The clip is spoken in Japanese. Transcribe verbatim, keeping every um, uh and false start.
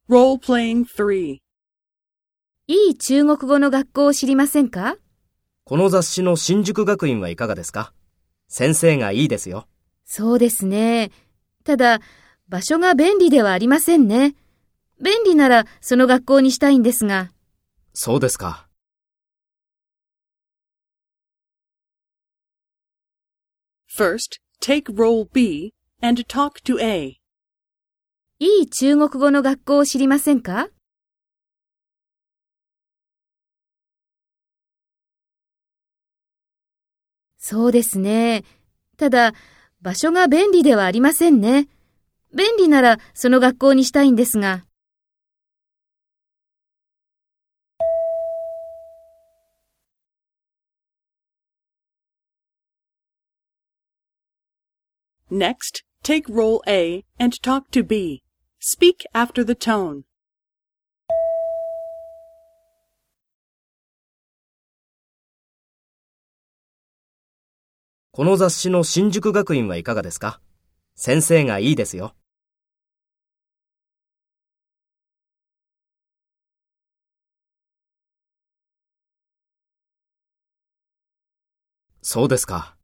Role-playing three. いい中国語の学校を知りませんか？ この雑誌の新宿学院はいかがですか？先生がいいですよ。 そうですね。ただ、場所が便利ではありませんね。便利ならその学校にしたいんですが。 そうですか。 First, take role B and talk to A. いい中国語の学校を知りませんか？そうですね。ただ、場所が便利ではありませんね。便利ならその学校にしたいんですが。 Next, take role A and talk to B. Speak after the tone. この雑誌の新宿学院はいかがですか？先生がいいですよ。そうですか。